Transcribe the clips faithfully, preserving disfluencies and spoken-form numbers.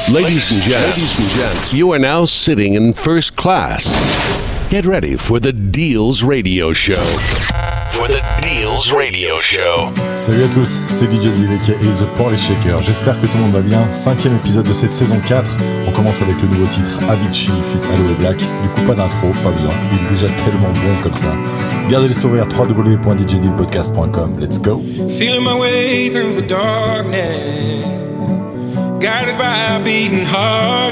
Ladies and gents, ladies and gents, you are now sitting in first class. Get ready for the Deals Radio Show. For the Deals Radio Show. Salut à tous, c'est D J Deal aka The Party Shaker. J'espère que tout le monde va bien. Cinquième épisode de cette saison quatre. On commence avec le nouveau titre Avicii feat. Aloe Black. Du coup, pas d'intro, pas besoin. Il est déjà tellement bon comme ça. Gardez le sourire, w w w point d j deal podcast point com. Let's go. Feeling my way through the darkness, guided by a beating heart.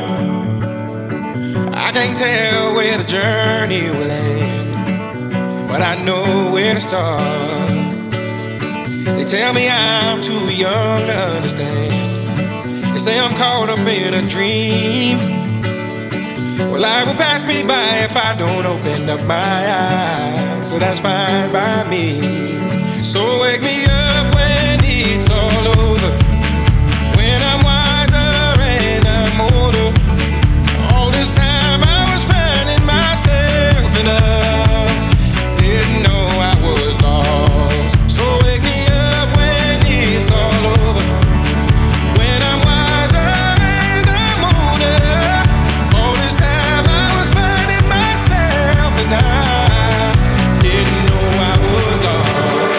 I can't tell where the journey will end, but I know where to start. They tell me I'm too young to understand. They say I'm caught up in a dream. Well, life will pass me by if I don't open up my eyes, so that's fine by me. So wake me up when it's all over, when I'm wiser and I'm older. All this time I was finding myself and I didn't know I was lost. So wake me up when it's all over, when I'm wiser and I'm older. All this time I was finding myself and I didn't know I was lost.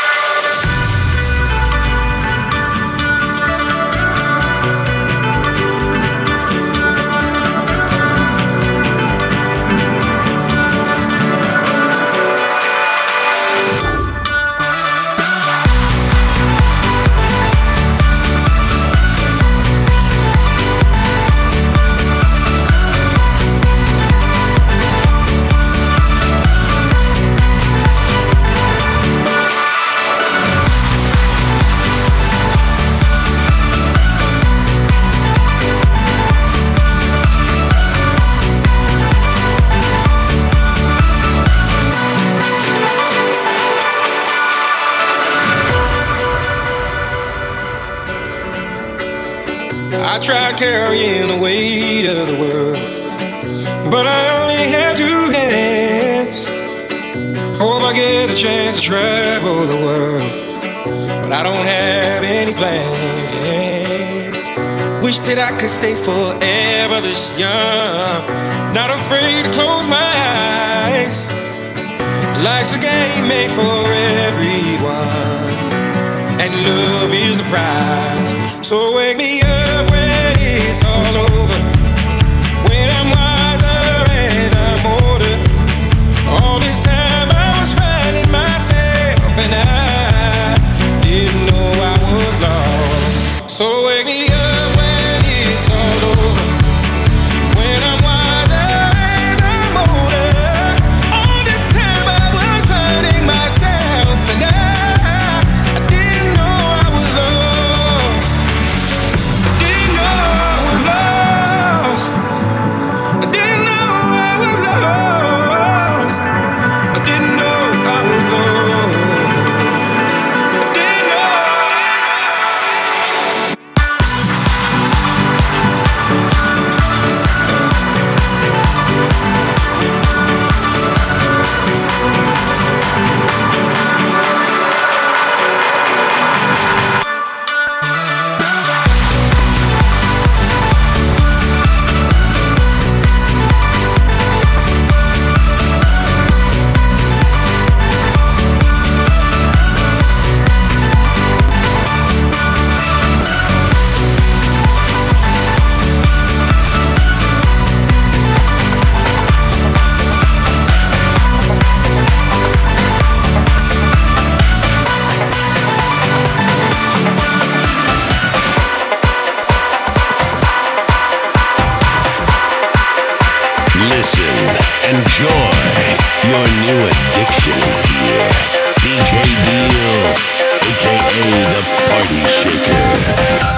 I tried carrying the weight of the world, but I only have two hands. Hope I get the chance to travel the world, but I don't have any plans. Wish that I could stay forever this young, not afraid to close my eyes. Life's a game made for everyone, and love is the prize. So wake me up when it's all over, when I'm wiser and I'm older. All this time I was finding myself and I didn't know I was lost. So wake me up when it's all over, when I'm wiser and I'm older. All this time I was finding myself and I, I didn't know I was lost. Didn't know I was lost. I didn't know I was lost. I didn't know I was lost. I didn't know. Listen, enjoy. Your new addiction is here. D J Deal, aka The Party Shaker.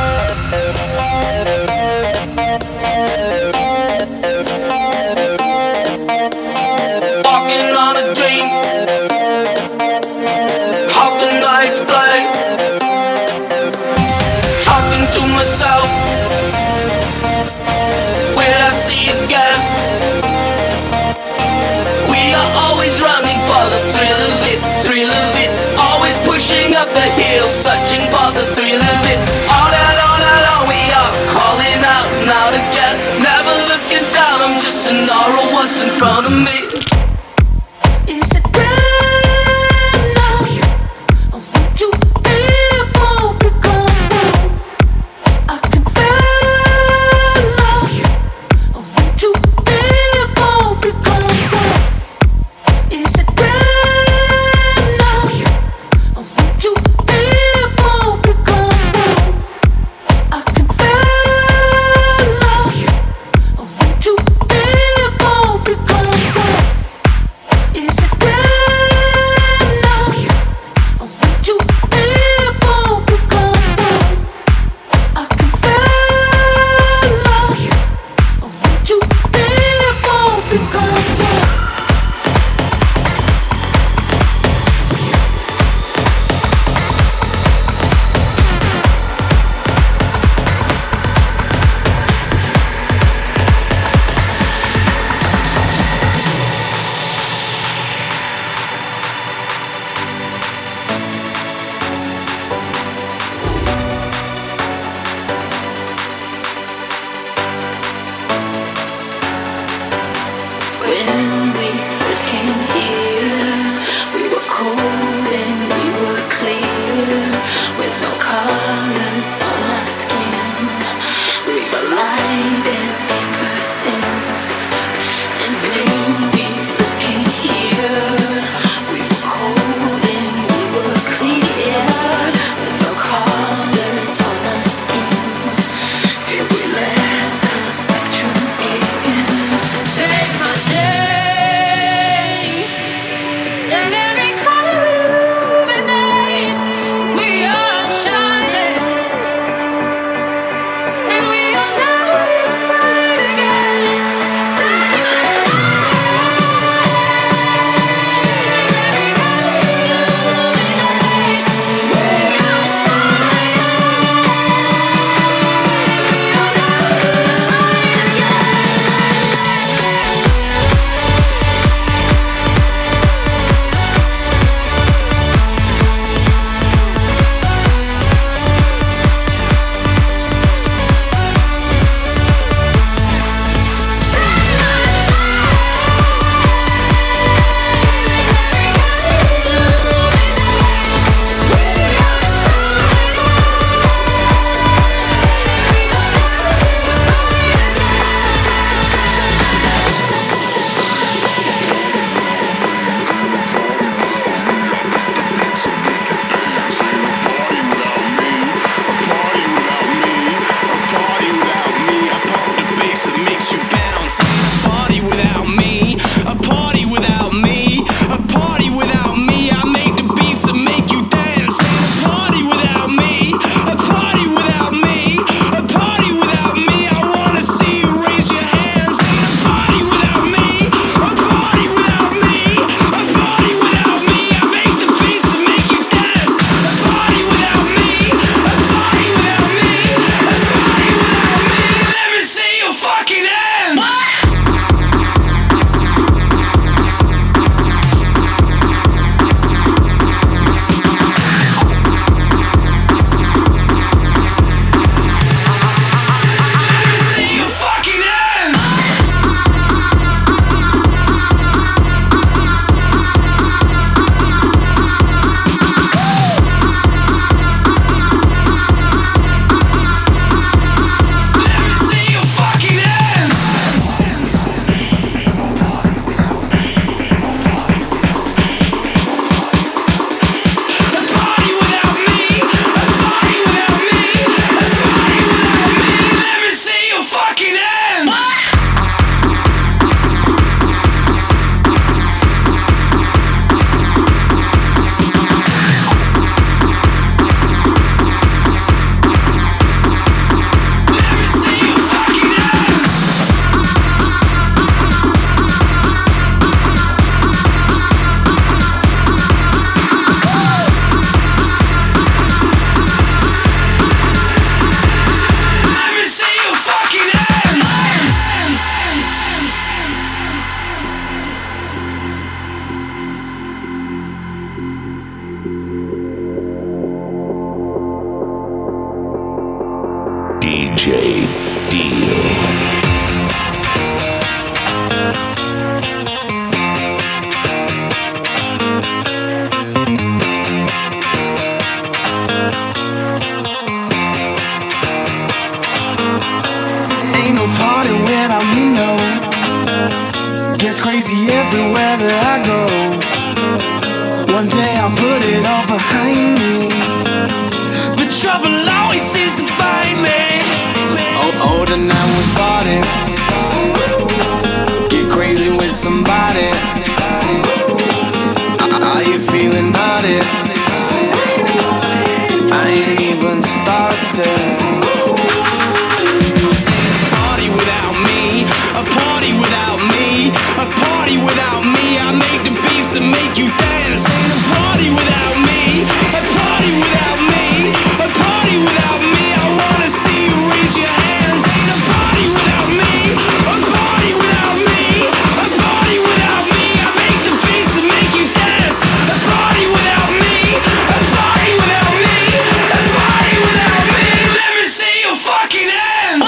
Walking on a dream. How can I explain? Talking to myself. Will I see again? We are always running for the thrill of it, thrill of it. Always pushing up the hill, searching for the thrill of it. All along, all along, we are calling out. chasing or what's in front of me. Is it right now? I want to be more become more. I can follow. I want to be more become more. Is it right now? I want to be more become more. I can follow. I want to be more become more. Is it right now? I want to be more become more. I can follow. I want to be more become more. When we first came here, we were cold and we were clear, with no colors on our skin. We were light and we were thin. And when we first came here, we were cold and we were clear, with no colors on our skin, till we let the spectrum in. Take my name, and every color illuminates. We are shining, and we are never afraid again. Say my name, and every color illuminates. We are shining, and we are never afraid again. D J Deal. without me, no. Gets crazy everywhere that I go. One day I'll put it all behind me, but trouble always seems to find me. Oh, oh, tonight we party. Get crazy with somebody. Are you feeling naughty? I ain't even started. Party without me, a party without me, a party without me. I make the beats that make you dance. Ain't a party without me, a party without me, a party without me. I wanna see you raise your hands. Ain't a party without me, a party without me, a party without me. I make the beats that make you dance. A party without me, a party without me, a party without me. Let me see your fucking hands.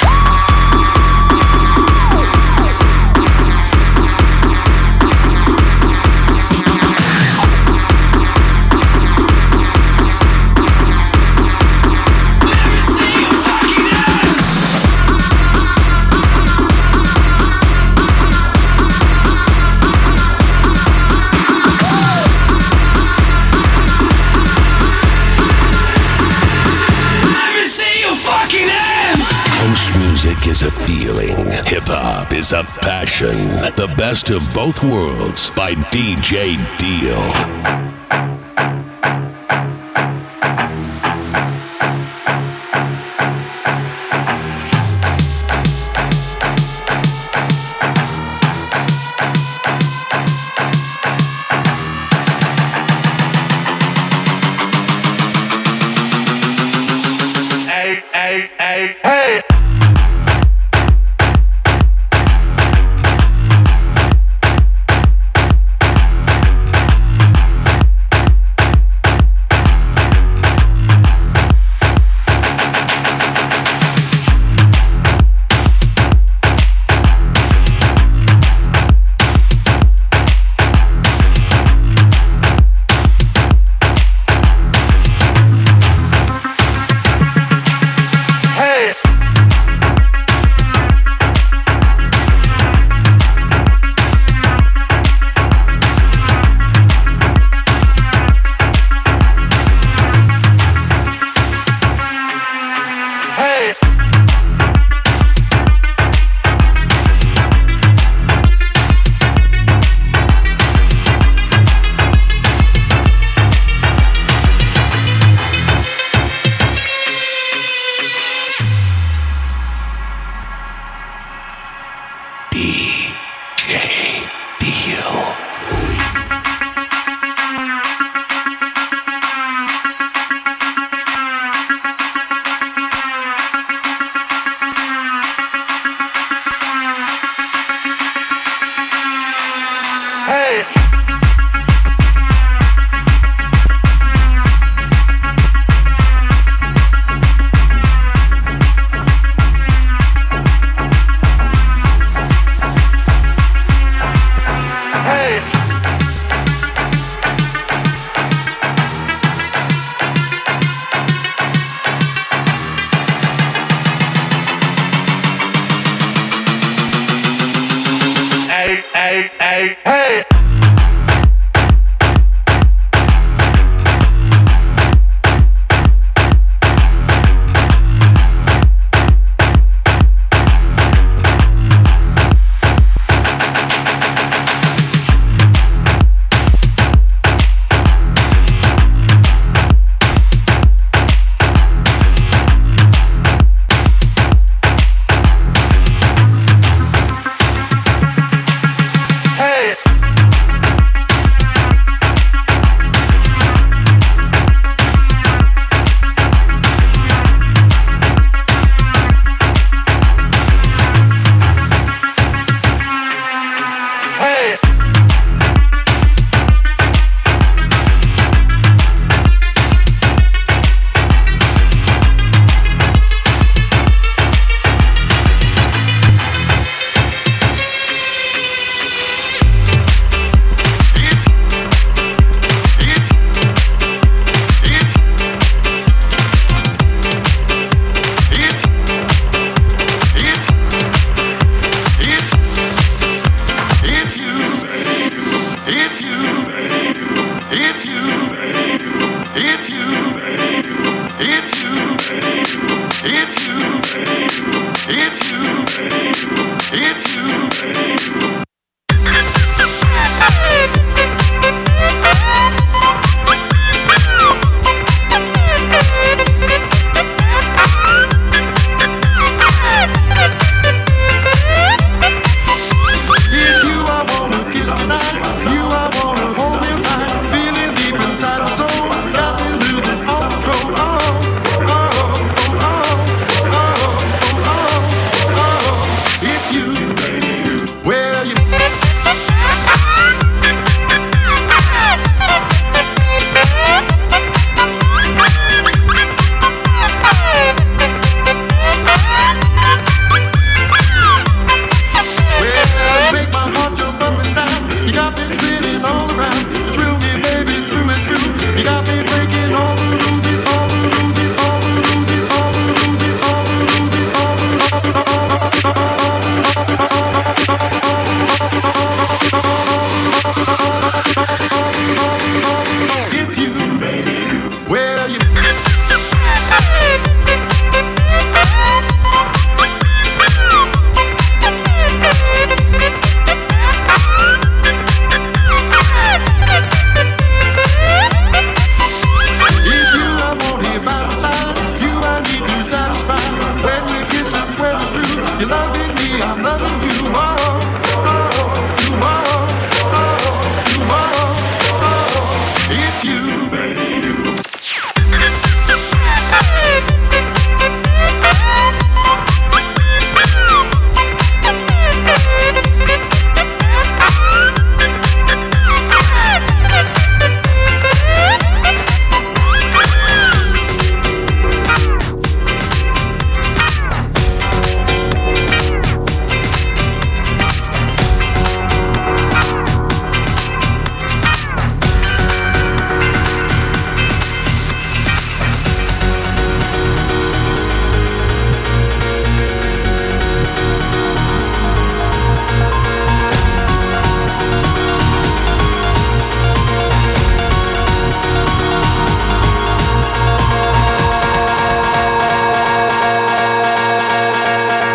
Is a feeling. Hip-hop is a passion. The best of both worlds by D J Deal. Hey, hey, hey, hey. Hey, hey, hey. Hey!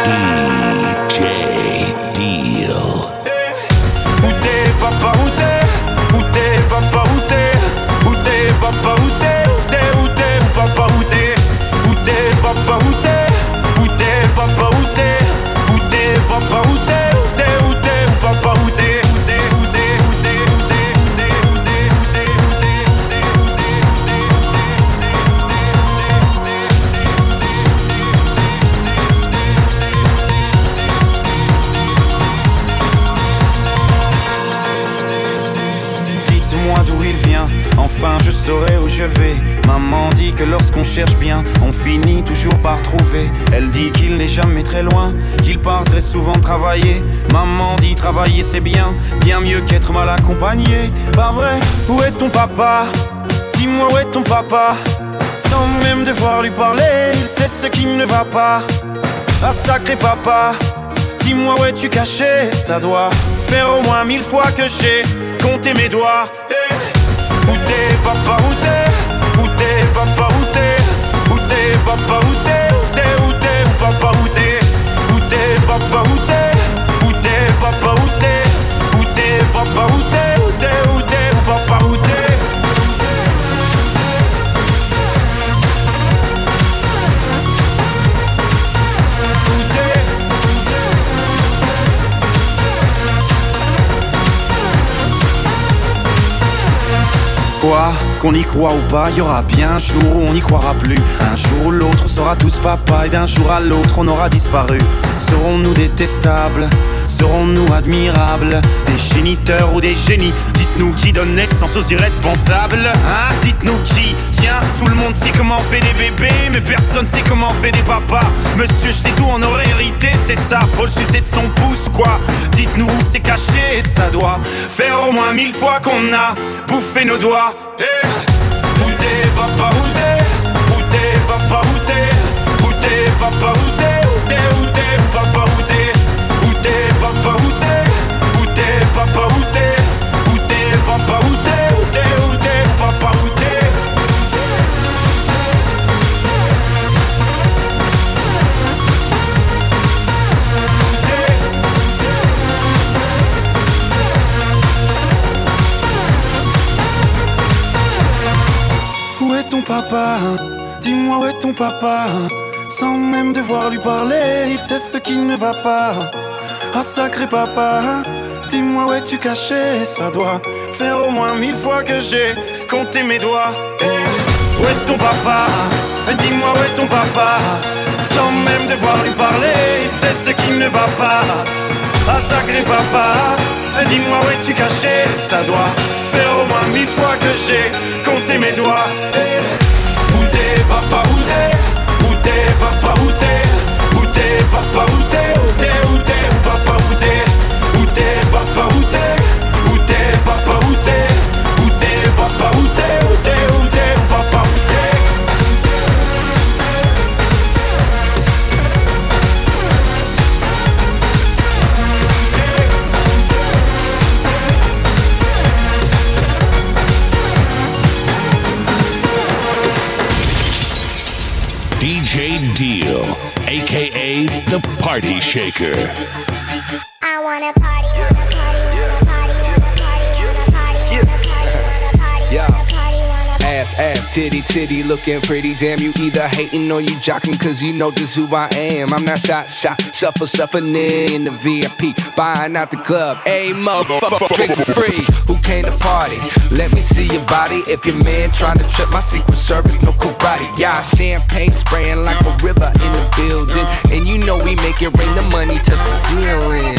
D J Deal. Où t'es, papa, où t'es? Où t'es, papa, où t'es? Où t'es, papa, où t'es? Où t'es, où t'es, où papa, où t'es? Où t'es, papa, où t'es? Où t'es, papa, où t'es? Où t'es, papa, où t'es? Où t'es, où t'es, où papa, où t'es? D'où il vient, enfin je saurai où je vais. Maman dit que lorsqu'on cherche bien, on finit toujours par trouver. Elle dit qu'il n'est jamais très loin, qu'il part très souvent travailler. Maman dit travailler c'est bien, bien mieux qu'être mal accompagné. Pas vrai, où est ton papa? Dis-moi où est ton papa? Sans même devoir lui parler, il sait ce qui ne va pas. Ah sacré papa, dis-moi où es-tu caché? Ça doit faire au moins mille fois que j'ai compté mes doigts. Où t'es, papa, où t'es? Où t'es, papa, où t'es? Où t'es, papa, où t'es? Où t'es, où t'es, où papa, où t'es? Où t'es, papa, où t'es? Où t'es, papa, où t'es? Où t'es, papa, où t'es? Où t'es, où t'es, où papa, où t'es? Quoi, qu'on y croit ou pas, y aura bien un jour où on n'y croira plus. Un jour ou l'autre on sera tous papa et d'un jour à l'autre on aura disparu. Serons-nous détestables? Serons-nous admirables? Des géniteurs ou des génies? Dites-nous qui donne naissance aux irresponsables, hein? Dites-nous qui? Tiens, tout le monde sait comment on fait des bébés, mais personne sait comment on fait des papas. Monsieur, je sais tout, on aurait hérité, c'est ça, faut le sucer de son pouce, quoi. Dites-nous où c'est caché, ça doit faire au moins mille fois qu'on a bouffé nos doigts. Hey. Où t'es, papa, où t'es? Où t'es, papa, où t'es? Où t'es, papa, où t'es? Où t'es, où t'es, où papa, où t'es? Où t'es, papa, où t'es? Où t'es, papa, où t'es? Où t'es, papa, où t'es? Où t'es, où t'es, où papa, où t'es? Où est ton papa? Dis-moi où est ton papa? Sans même devoir lui parler, il sait ce qui ne va pas. Ah sacré papa, dis-moi où es-tu caché? Ça doit faire au moins mille fois que j'ai compté mes doigts. Hey. Où est ton papa? Dis-moi où est ton papa? Sans même devoir lui parler, il sait ce qui ne va pas. Ah sacré papa, dis-moi où es-tu caché? Ça doit faire au moins mille fois que j'ai compté mes doigts. Hey. Où t'es, papa, où t'es? Où t'es, papa, où t'es? Où t'es, papa, où t'es? Où t'es, où t'es, où papa, où t'es? Où t'es, papa, où t'es? Où t'es, papa, où t'es? Où t'es, papa, où t'es? Où t'es, où t'es, où papa, où t'es? D J Deal, aka the Party Shaker. I wanna party, wanna party, wanna party, wanna party, wanna party, wanna party, wanna party, wanna party, wanna party. Ass, ass, titty, titty, looking pretty. Damn, you either hating or you jocking, cause you know just who I am. I'm not shot, shot, shuffle, shuffling in the V I P, buying out the club. Ayy, motherfucker, drink for free. Who came to party? Let me see your body. If your man trying to trip my Secret Service, no karate. Y'all champagne spraying like a river in the building. And you know we make it rain, the money touch the ceiling.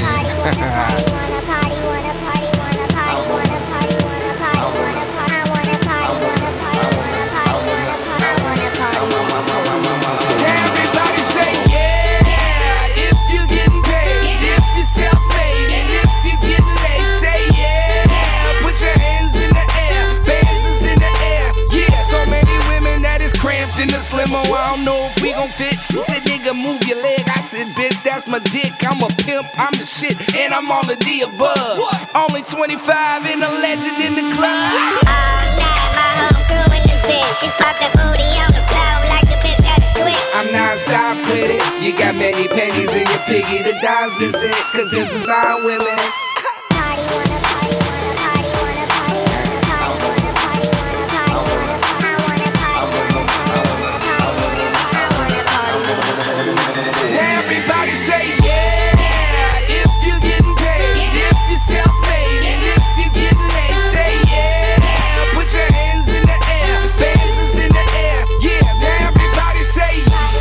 In the limo, I don't know if we gon' fit. She said, nigga, move your leg. I said, bitch, that's my dick. I'm a pimp, I'm the shit, and I'm all of the above. What? Only twenty-five and a legend in the club. All night, my whole crew in this bitch. She pop that booty on the floor like the bitch got a twist. I'm non-stop with it. You got many pennies in your piggy, the dimes missing. Cause this is our women. Party wanna party wanna party wanna party wanna party wanna party wanna party wanna I wanna party wanna party wanna party wanna I wanna party. Now everybody say yeah. If you getting paid, if you self-made, and if you get laid, say yeah. Put your hands in the air, bands is in the air. Yeah, now everybody say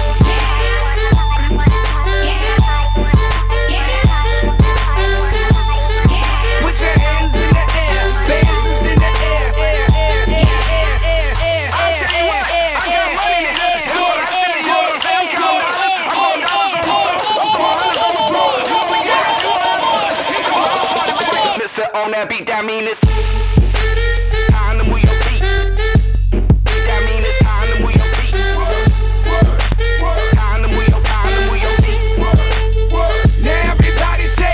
put your hands in the air, bands is in the air. Mister on that beat, that mean it's time to move your feet. That mean it's time to move your feet. Time to move your, time to move your feet. Now everybody say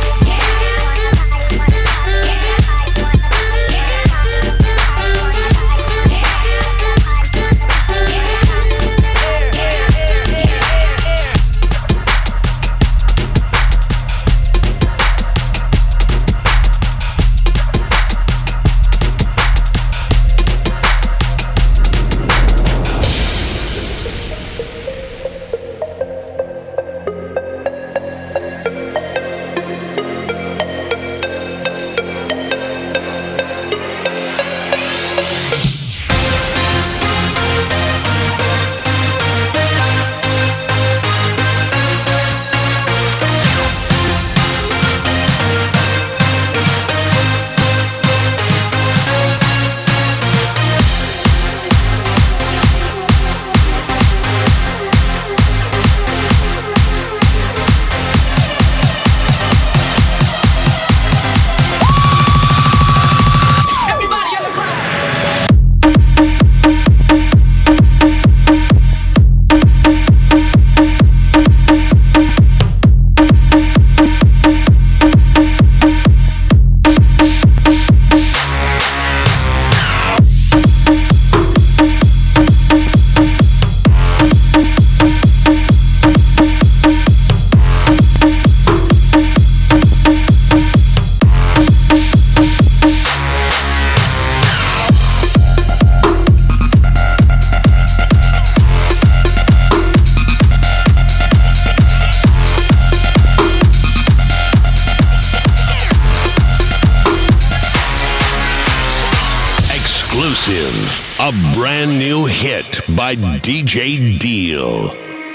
A brand new hit by D J Deal.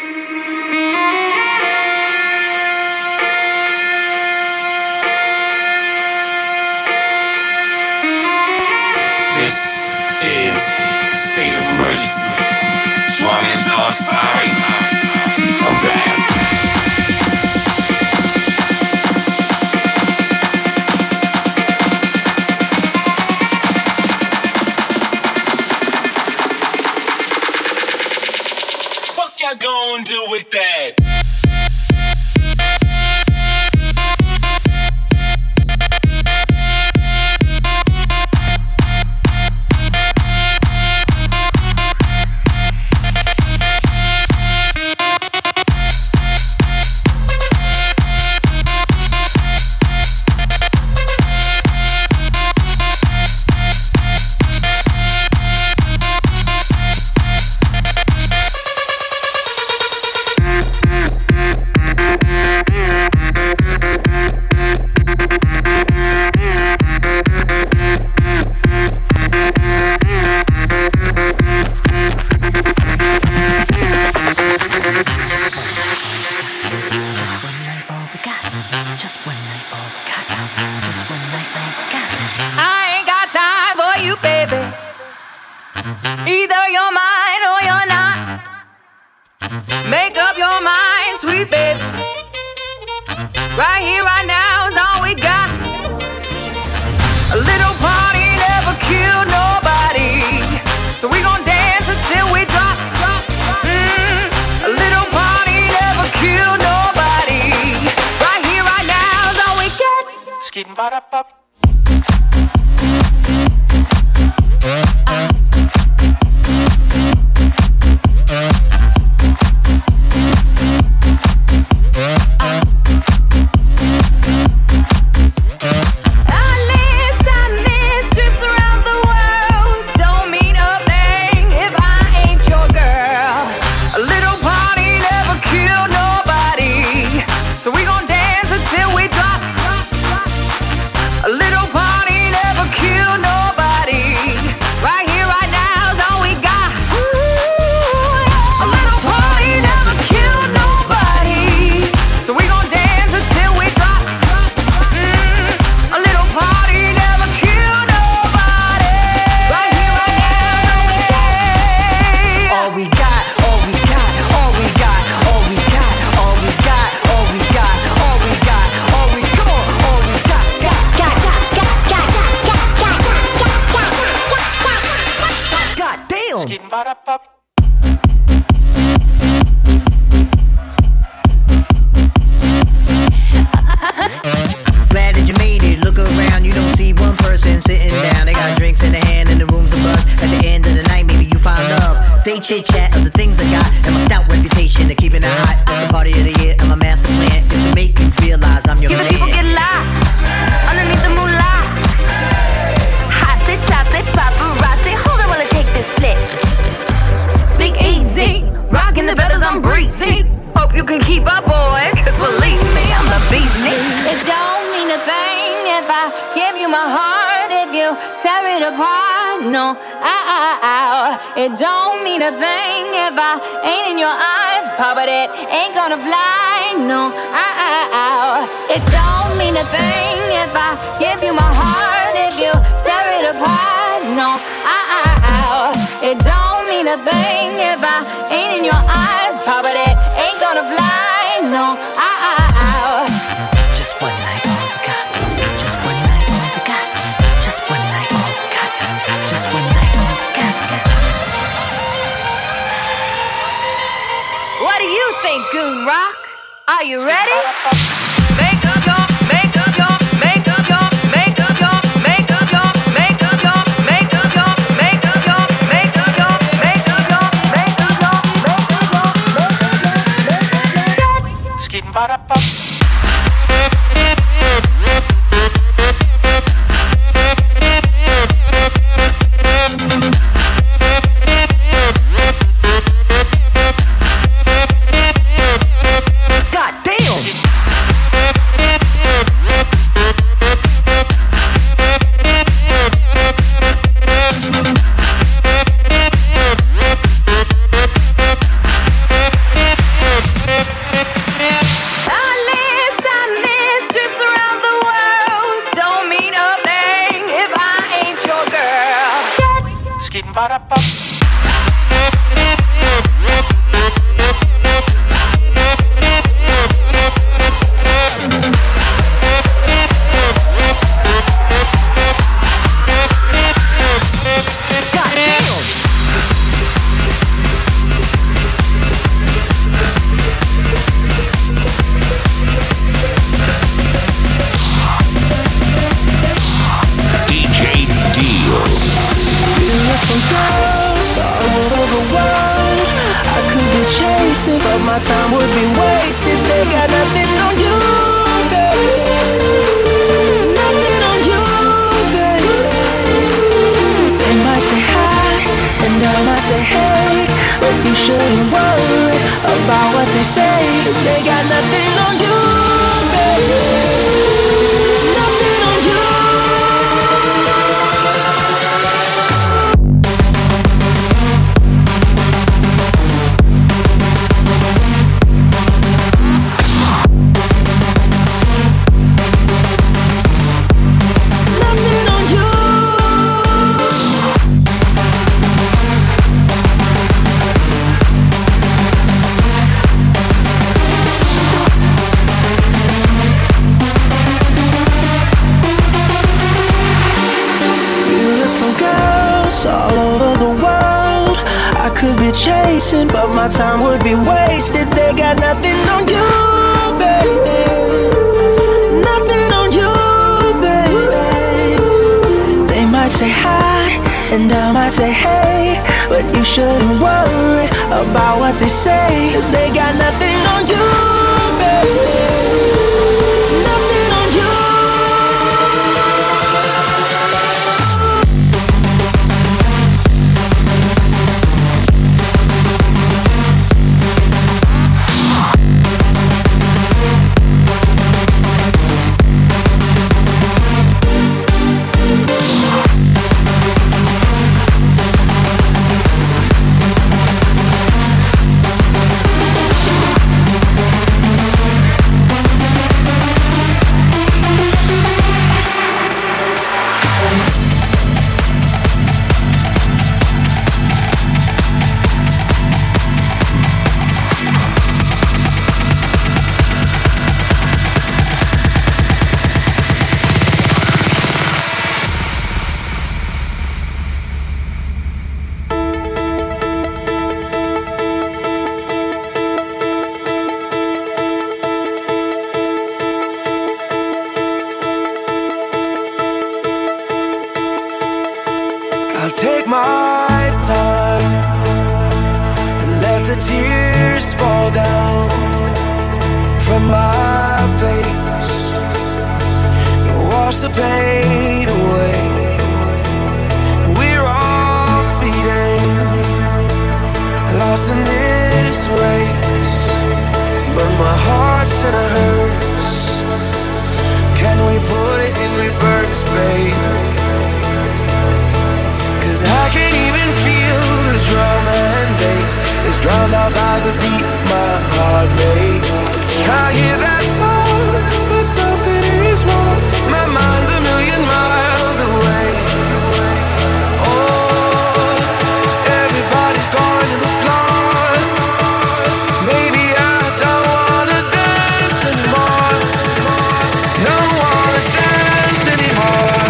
This is a state of emergency. Strong and dog, sorry. I'm back. Y'all gonna do with that? Glad that you made it. Look around, you don't see one person sitting down. They got drinks in their hand and the room's a buzz. At the end of the night, maybe you find love. They chit chat of the things I got and my stout reputation of keeping it hot. It's the party of the year and my master plan is to make you realize I'm your Giving man. people get lost underneath the moolah. Hot sit, top sit, paparazzi. Hold on while I take this flick. Speak easy, rocking the feathers, I'm breezy. Hope you can keep up, boys, cause believe me, I'm the beast. It don't mean a thing if I give you my heart, if you tear it apart. No, ow, ow, ow. It don't mean a thing if I ain't in your eyes, Papa, but it ain't gonna fly. No, ow, ow, ow. It don't mean a thing if I give you my heart, if you tear it apart. No, ow, ow, ow. It don't mean a thing if I ain't in your eyes, Papa, but it ain't gonna fly. No, ow, ow, ow. Just one night, all we got. Just one night, all we got. Just one night, all we got. Just one night, all we got. What do you think, Goon Rock? Are you ready? Make up your, make up your, make up your, make up your, make up your, make up your, make up your, make up your, make up your, make up your, make up your, make up your. Skipping by the pop. But my time would be wasted. They got nothing on you, baby. Nothing on you, baby. They might say hi, and I might say hey, but you shouldn't worry about what they say, cause they got nothing on you, baby. Nothing on you. my time and let the tears fall down from my face and wash the pain away. We're all speeding, lost in this race, but my heart's in a hearse. Can we put it in reverse, babe? Cause I can't even feel the drum and bass. It's drowned out by the beat my heart makes. I hear that song, but something is wrong. My mind's a million miles away. Oh, everybody's going to the floor. Maybe I don't wanna dance anymore. Don't wanna dance anymore.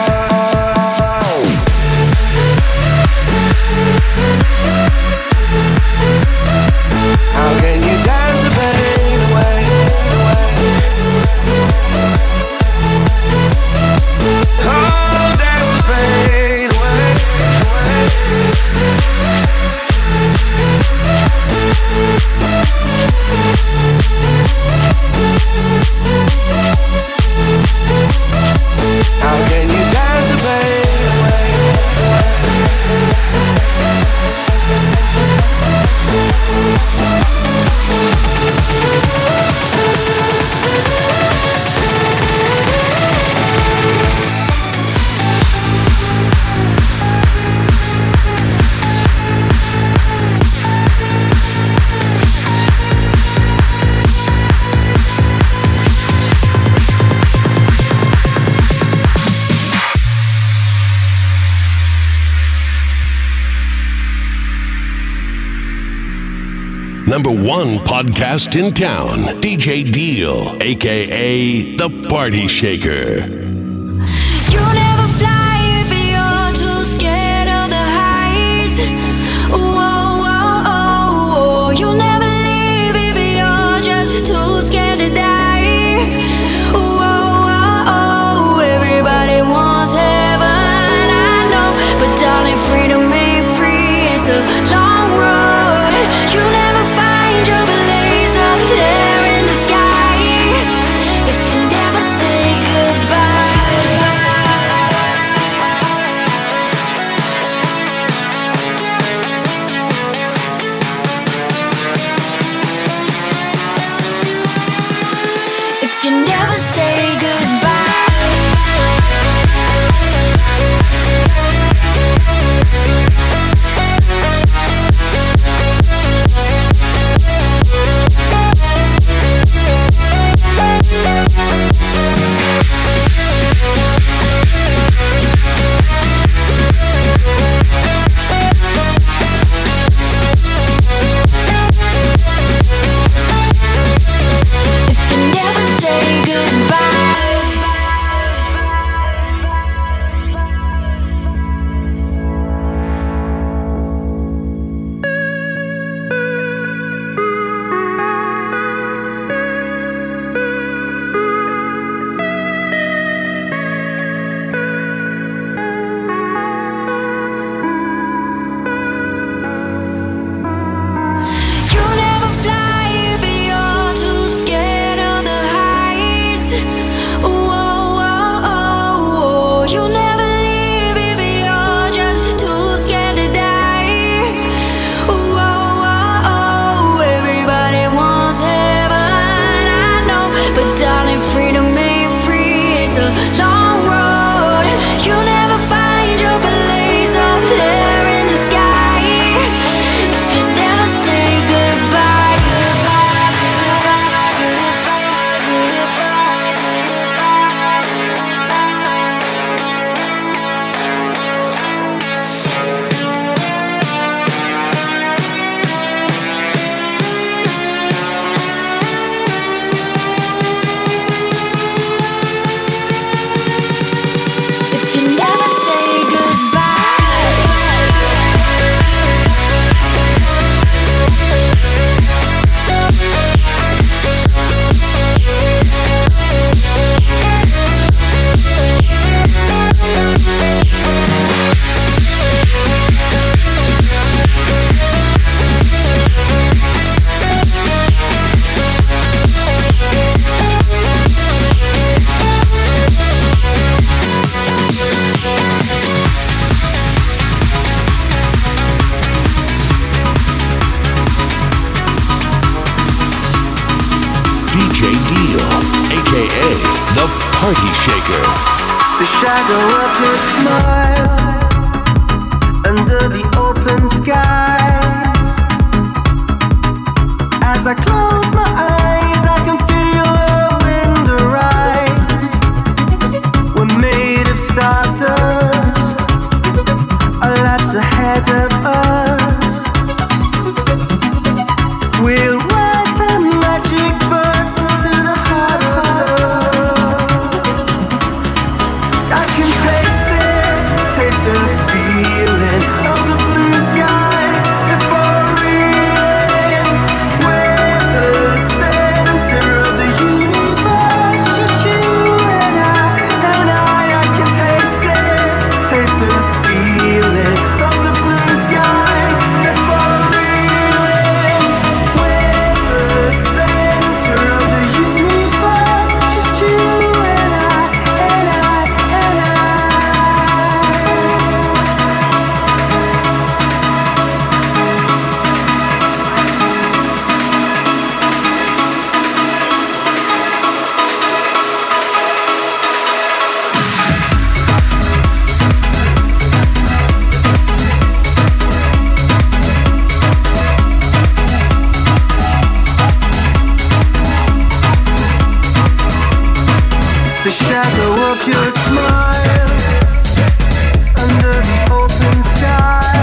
How can you dance the pain away? Oh, dance the pain away. How can you dance the pain away? Number one podcast in town, D J Deal, aka The Party Shaker. You never fly if you're too scared of the heights. Whoa, whoa, oh, oh. You never leave if you're just too scared to die. Whoa, whoa, oh. Everybody wants heaven, I know, but darling, freedom ain't free. It's a long road. You never find your place up there in the sky if you never say goodbye. aka the Party Shaker. The shadow of your smile under the open skies. As I close my eyes, I can feel the wind arise. We're made of stardust, our lives ahead of us. We'll ride the magic bus into the heart of love. I can taste it, taste the feeling of the blue skies before reeling. We're the center of the universe, just you and I, and I. I can taste it, taste the feeling of the blue skies before reeling. We're the center of the universe, just you and I, and I, and I. The shadow of your smile under the open sky.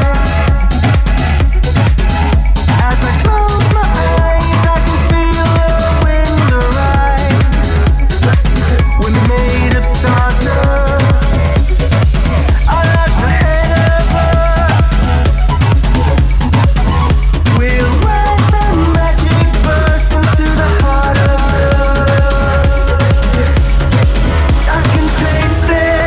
As I close my eyes, I can feel the wind arise. We're made of stardust, our lives ahead of us. We'll ride the magic bus into the heart of love. I can taste it.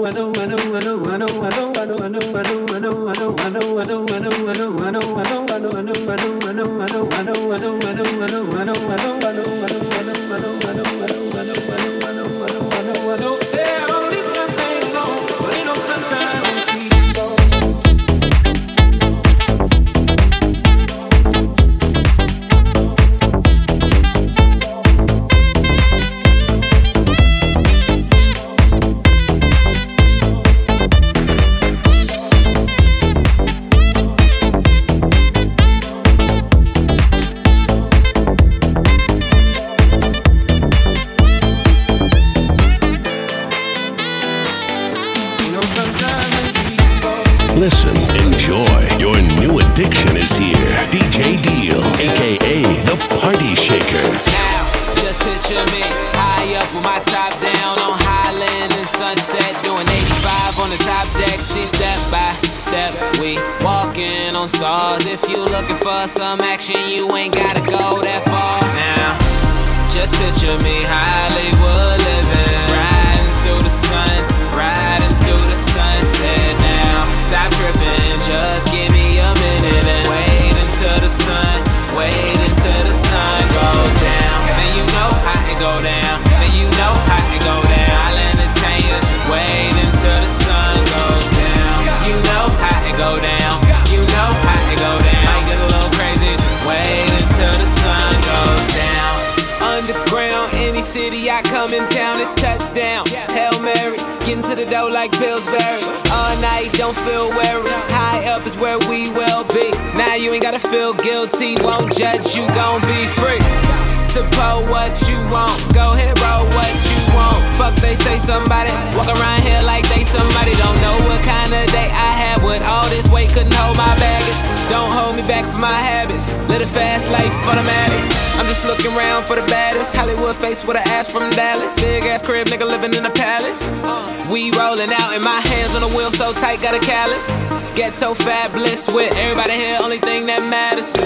Listen, enjoy. Your new addiction is here. D J Deal, aka the Party Shaker. Now, just picture me high up with my top down on Highland and Sunset, doing eighty-five on the top deck. See, step by step, we walking on stars. If you looking for some action, you ain't gotta go that far. Now, just picture me Hollywood living, riding through the sun, riding through the sunset. Now, stop tripping, just give me a minute and wait until the sun, wait until the sun goes down. Then you know how it go down, then you know how it go down. I'll entertain you, just wait until the sun goes down. You know how it go down, you know how it go down. Might get a little crazy, just wait until the sun goes down. Underground, any city I come in town, it's touchdown. Hail Mary, getting to the dough like Pillsbury. All night, don't feel weary. High up is where we will be. Now you ain't gotta feel guilty, won't judge, you gon' be free. Support what you want, go ahead, roll what you want. Fuck they say somebody, walk around here like they somebody. Don't know what kind of day I had with all this weight, couldn't hold my baggage. Don't hold me back for my habits, live a fast life automatic. I'm just looking around for the baddest Hollywood face with an ass from Dallas. Big ass crib, nigga living in a palace. We rolling out and my hands on the wheel so tight, got a callus. Get so fabulous with everybody here, only thing that matters.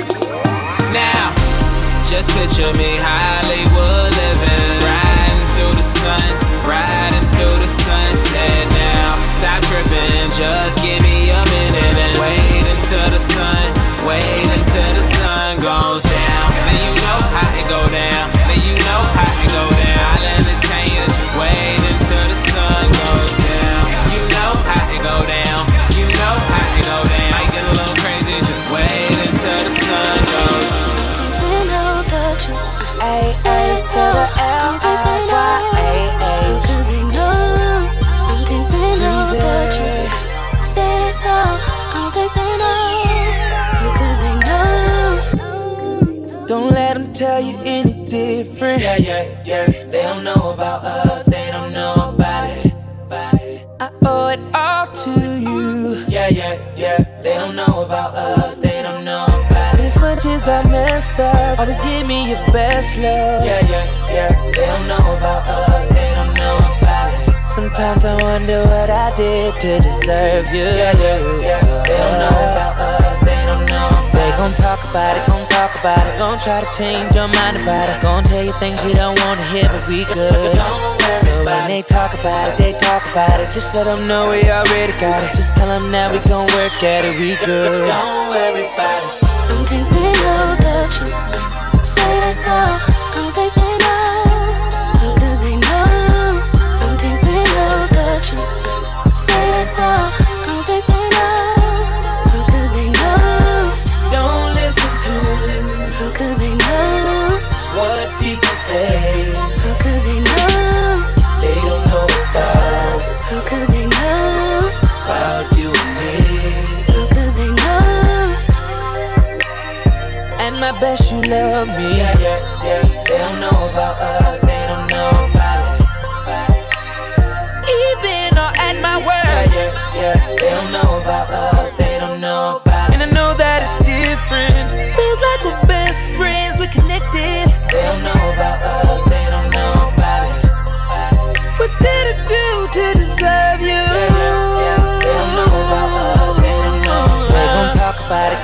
Now, just picture me Hollywood living, riding through the sun, riding through the sunset. Now, stop tripping, just give me a minute and wait until the sun, wait until the sun goes down. Then you know how it go down, then you know how it go down. I'll entertain you, just wait until the sun goes down. You know how it go down, you know how it go down. Might get a little crazy, just wait until the sun goes down. A A to the L I Y A H. How could they know? I'm deep in all the truth. Say this all, I think they know. How could they know? Don't let them tell you any different. Yeah, yeah, yeah. They don't know about us, they don't know about it. About it. I owe it all to you. Yeah, yeah, yeah. They don't know about us, they don't know about it. And as much as I messed up, always give me your best love. Yeah, yeah, yeah. They don't know about us, they don't know about it. Sometimes I wonder what I did to deserve you. Yeah, yeah, yeah. They don't know about us, they don't know about it. They gon' talk about it, gon' talk about it, gon' try to change your mind about it, gon' tell you things you don't wanna hear, but we good. So when they talk about it, they talk about it. Just let them know we already got it. Just tell them now we gon' work at it, we good. Don't worry about it. I'm deep in all the truth. Say that's all, I think they know. How could they know? I'm deep in all the truth. Say that's all, I think they know. How could they know? Don't listen to How could they know? what people say. How could they know? They don't know about, How could they know? about you and me. How could they know? And I bet you love me. Yeah, yeah, yeah. They don't know about us, they don't know about it. Even or at my worst. Yeah, yeah, yeah. They don't know about us, they don't know about it. And I know that it's different. Feels like we're best friends, we're connected. They don't know about us, they don't know about it. What did I do to deserve you? Yeah, yeah, yeah. They don't know about us, they don't know about it. They gon' talk about it, gon' talk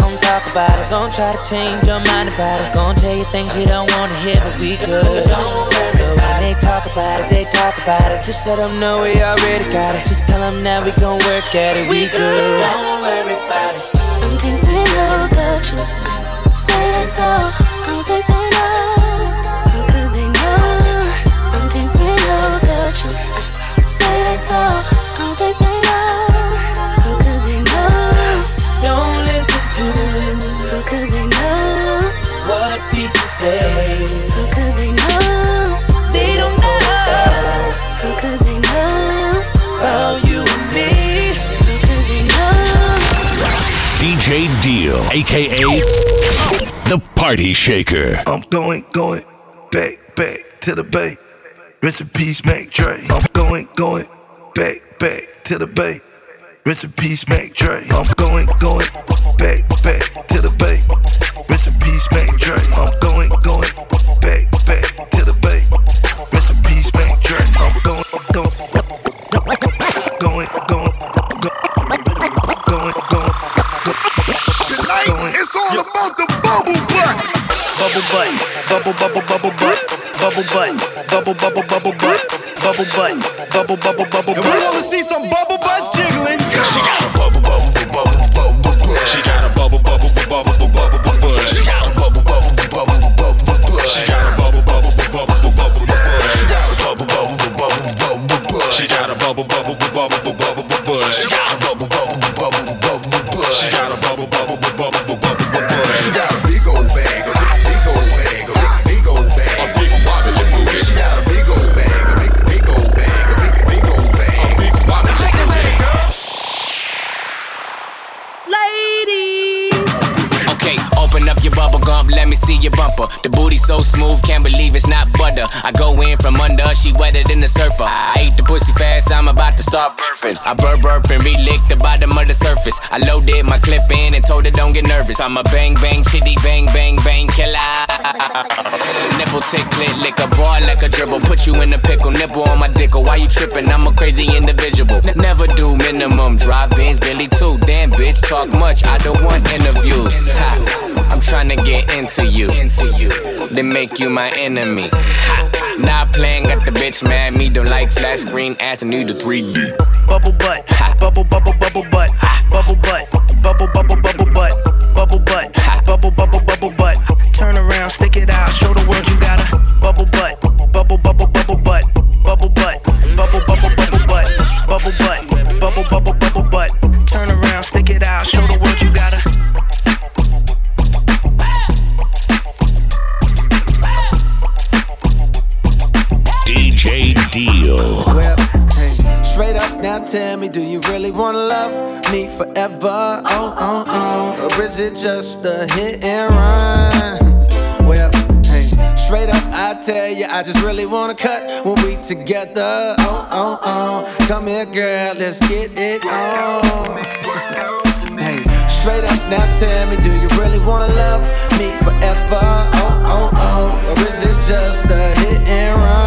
about it. Gon' try to change your mind about it. Gon' tell you things you don't wanna hear, but we good. So when they talk about it, they talk about it. Just let them know we already got it. Just tell them now we gon' work at it. We good. Don't worry about it. I'm think they know the truth. Say that's all. Don't think they know. How could they know? I'm think they know the truth. Say that's all. Don't think they know. How could they know? Don't listen to How could they know what people say. How could they know? They don't know How could they know about you and me. How could they know? D J Deal, aka the Party Shaker. I'm going, going back, back to the bay. Rest in peace, Mac Dre. I'm going, going back, back to the bay. Rest in peace, Mac Dre. I'm going, going back, back to the bay. Rest in peace, Mac Dre. I'm going, going back, back to the bay. Rest in peace, Mac Dre. I'm going, going, going, going, going, going. Tonight it's all about the bubble butt. Bubble butt, bubble, bubble, bubble butt. Bubble butt, bubble, bubble, bubble butt. Bubble butt, bubble, bubble, bubble butt. And we wanna see some bubble butts jiggling. She got a bubble, bubble, bubble, bubble, bubble. She got a bubble, bubble, bubble, bubble, bubble. She got a bubble, bubble, bubble, bubble, bubble. She got a bubble, bubble, bubble, bubble, bubble. She got a bubble, bubble, bubble, bubble, bubble. She got a bubble, bubble, bubble, bubble, bubble. She got a bubble, bubble, bubble, bubble, bubble. She got a bubble, bubble, bubble, bubble, bubble. She got a big old bag, a big old bag, a big, big old bag, a big wobbly booty. She got a big old bag, a big, big old bag, a big, big old bag, a big wobbly booty. Ladies. Okay, open up your bubble gum, let me see your bumper. The booty so smooth, can't believe it's not butter. I go in from under, she wetter than the surfer. I ate the pussy fast, I'm about to start burping. I burp burp and re-lick the bottom of the surface. I loaded my clip in and told her don't get nervous. I'm a bang bang chitty bang bang bang killer. Nipple tick clit lick a boy like a dribble. Put you in a pickle, nipple on my dickle. Why you tripping? I'm a crazy individual. N- never do minimum drive-ins, Billy too. Damn bitch, talk much. I don't want interviews. Ha. I'm tryna get into you, into you, then make you my enemy. Ha. Not playing, got the bitch mad. Me don't like flat screen ass and need the three D. Bubble butt, bubble, bubble, bubble butt, bubble butt, bubble, bubble, bubble butt, bubble butt, bubble, bubble, bubble butt. Turn around, stick it out, show the world you got a bubble butt, bubble, bubble, bubble butt, bubble butt, bubble, bubble, bubble butt, bubble butt, bubble, bubble, bubble butt. Turn around, stick it out, show the world you got a. D J Deal. Well, hey, straight up now tell me, do you really wanna love me forever? Oh, oh, oh. Or is it just a hit and run? Well, hey, straight up I tell you, I just really wanna cut when we together. Oh, oh, oh. Come here, girl, let's get it on. Hey, straight up now tell me, do you really wanna love me forever? Oh, oh, oh. Or is it just a hit and run?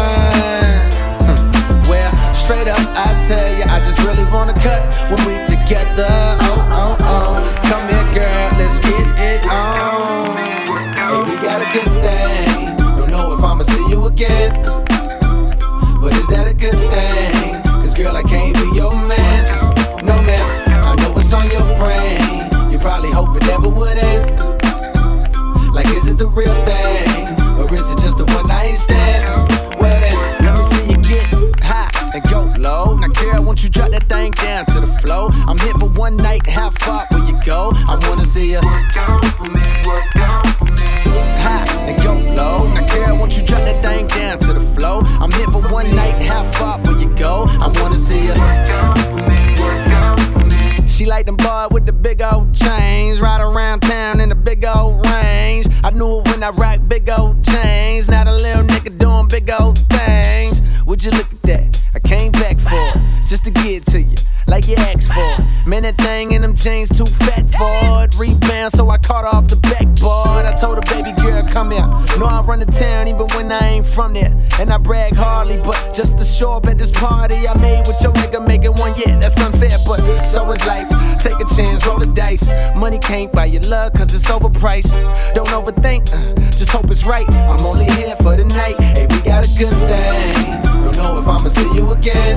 Straight up, I tell you, I just really wanna cut when we together. Oh, oh, oh. Come here, girl, let's get it on. Hey, we got a good thing. Don't know if I'ma see you again, but is that a good thing? Cause girl, I can't be your man. No, man, I know what's on your brain. You probably hope it never would end. Like, is it the real thing? Or is it just a one night stand? Well then, let me see you get high and go low. Now girl, won't you drop that thing down to the floor? I'm here for one night, how far will you go? I wanna see you work out for me, work out for me. High and go low. Now girl, won't you drop that thing down to the floor? I'm here for one night, how far will you go? I wanna see you work out for me, work out for me. She like them boys with the big old chains, ride around town in the big old range. I knew it when I rock big old chains. Now the little nigga doing big old things. Would you look at that? I came back for it, just to get to you, like you asked for. Man, that thing in them jeans too fat for it. Rebound, so I caught off the backboard. I told her, baby girl, come here. Know I run the town even when I ain't from there. And I brag hardly, but just to show up at this party I made with your nigga making one, yeah, that's unfair. But so is life. Take a chance, roll the dice. Money can't buy your love cause it's overpriced. Don't overthink, uh, just hope it's right. I'm only here for the night, hey, we got a good thing. Don't know if I'ma see you again,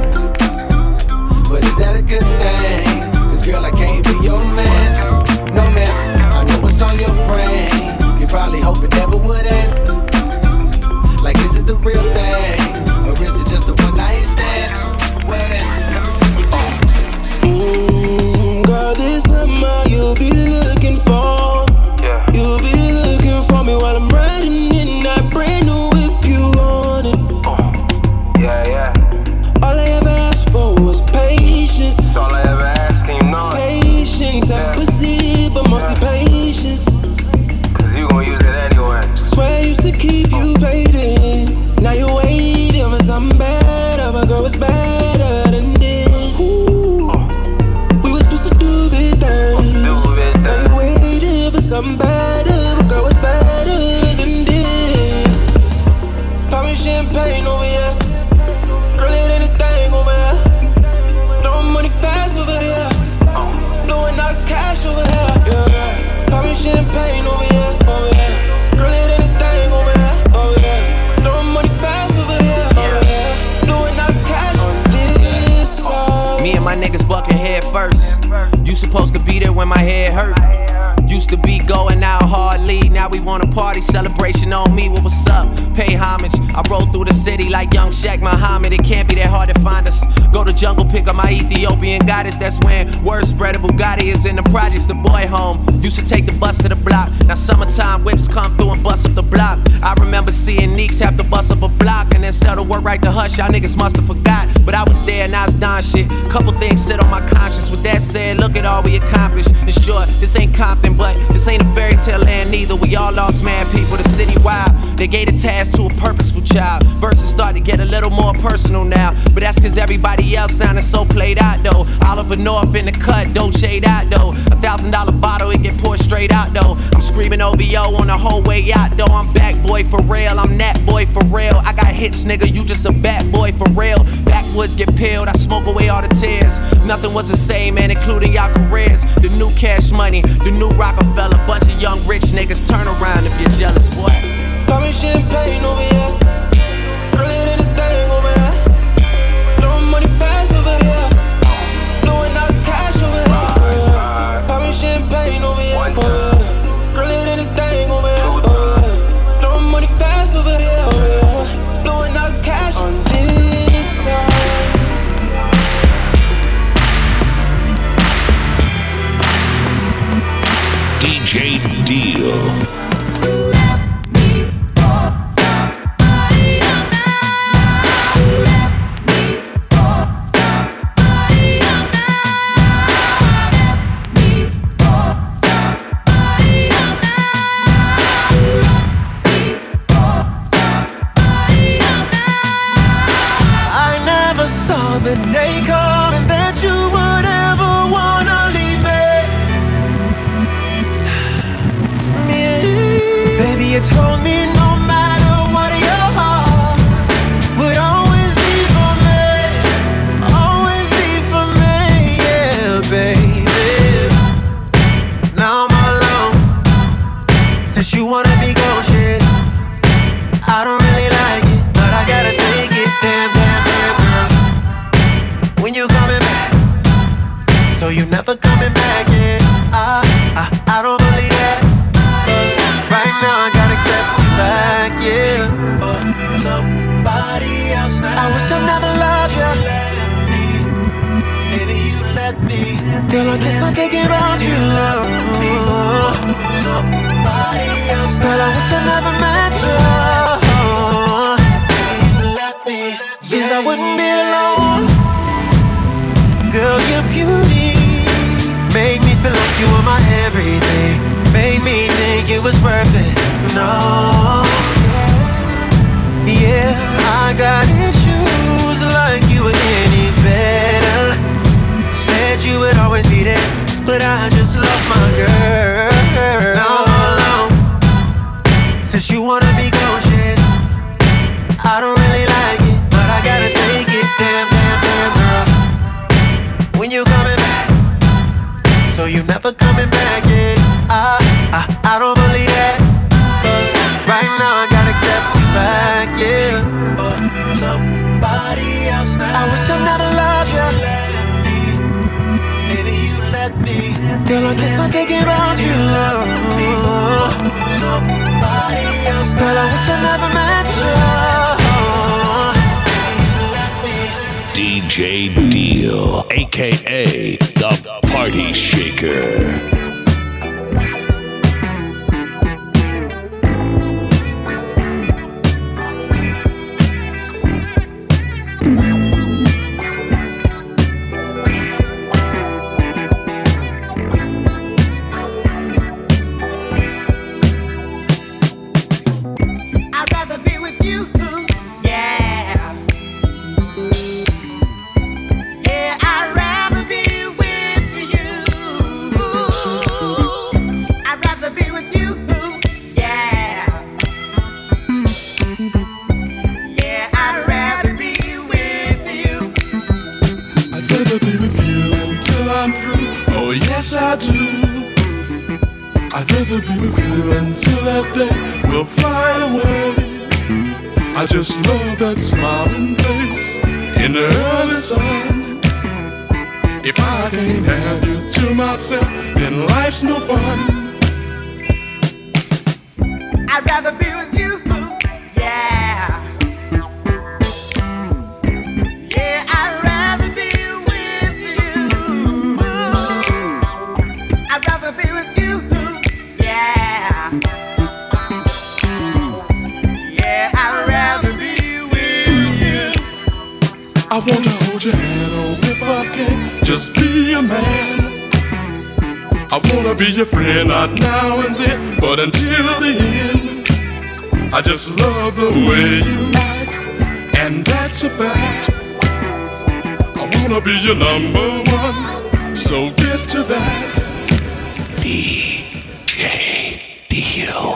but is that a good thing? Cause girl, I can't be your man. No man, I know what's on your brain. You probably hope it never would end. Like, is it the real thing? Or is it just a one night stand? Well then, let me see you. Mm, girl, this summer you'll be looking for. Yeah. You'll be looking for me while I'm riding in that brand new whip you on it. Oh. Yeah, yeah. All I ever asked for was patience. That's all I ever asked, and you know it. Patience, yeah. Empathy, but mostly yeah. patience. Cause you gon' use it anyway. Swear I used to keep you waiting. Now you're waiting for something better, but girl, it's better than this. Ooh. Oh. We were supposed to do big things. Do big things. Now you're waiting for something better, but girl, it's better than this. Call me champagne over here. Girl, it ain't a thing over here. Blowing money fast over here. Oh. Blowing nice cash over here. Yeah, yeah. Call me champagne over here, over here. Girl, it ain't a thing over here, over here. Blowing money fast over here, over here. Blowing nice cash on this side. Me and my niggas bucking head first. You supposed to be there when my head hurt. Used to be going out hardly, now we want a party, celebration on me, what was up? Pay homage, I roll through the city like young Shaq Muhammad, it can't be that hard to find us. Go to jungle, pick up my Ethiopian goddess, that's when word spread a Bugatti is in the projects, the boy home. Used to take the bus to the block, now summertime whips come through and bust up the block. I remember seeing Neeks have to bust up a block and then sell the word right to Hush, y'all niggas must have forgot. But I was there and I was done shit, couple things sit on my conscience. With that said, look at all we accomplished. It's short, this ain't Compton, but this ain't a fairy tale land neither. We all lost mad people, the city wild. They gave the task to a purposeful child. Verses start to get a little more personal now, but that's cause everybody else sounded so played out though. Oliver North in the cut, Dolce out though. A thousand dollar bottle, it get poured straight out though. I'm screaming O V O on the whole way out though. I'm back boy for real, I'm that boy for real. I got hits nigga, you just a bad boy for real. Backwoods get peeled, I smoke away all the tears. Nothing was the same man, including y'all careers. The new Cash Money, the new Rockefeller. Bunch of young rich niggas, turn around if you're jealous, boy. Call me champagne over here. Girl, it ain't a thing over here. Blowing money fast over here. Blowing nice cash over here. Call me champagne over here. Over here. Girl, it ain't a thing over here. Over here. Blowing money fast over here. Over here. Blowing nice cash on this side. D J Deal. The day coming that you would ever wanna leave me. Yeah. Baby, you told me no matter what, your heart would always be for me, always be for me, yeah, baby. Now I'm all alone, since you wanna be gone, shit. I don't really like it, but I gotta take it, damn, damn, damn, girl. When you coming back, so you never coming back, yeah. I, I, I don't believe that, but right now I gotta accept the fact, yeah. But somebody else now, I wish I never loved you. You left me, baby, you left me. Girl, I guess I'm thinking about you. You left me, somebody else now. Girl, I wish I never met you. Baby, you left me, yes, I wouldn't be alone. Girl, your beauty made me feel like you were my everything. Made me think it was worth it. No, yeah, I got issues like you were any better. Said you would always be there, but I just lost my girl. Now I'm alone, since you wanna be gone, shit. I don't really like it, but I gotta take it, damn, damn, damn, girl. When you coming back, so you never coming back, yeah. I, I, I don't believe that, but right now I gotta accept the fact, yeah. But somebody else now, I wish I never loved you. You left me, baby, you left me. Girl, I guess I'm thinking about you. Somebody else now, girl, I wish I never met you. D J Deal, aka the Party Shaker. I do. I'd rather be with you until that day will fly away. I just love that smiling face in the early sun. If I can't have you to myself, then life's no fun. I'd rather be with you, yeah. Yeah, I'd rather be with you. I'd rather be with you, yeah. Yeah, I'd rather be with you. I wanna hold your hand, oh, if I can just be a man. I wanna be your friend, not now and then, but until the end. I just love the way you act, and that's a fact. I wanna be your number one, so get to that. D J Deal.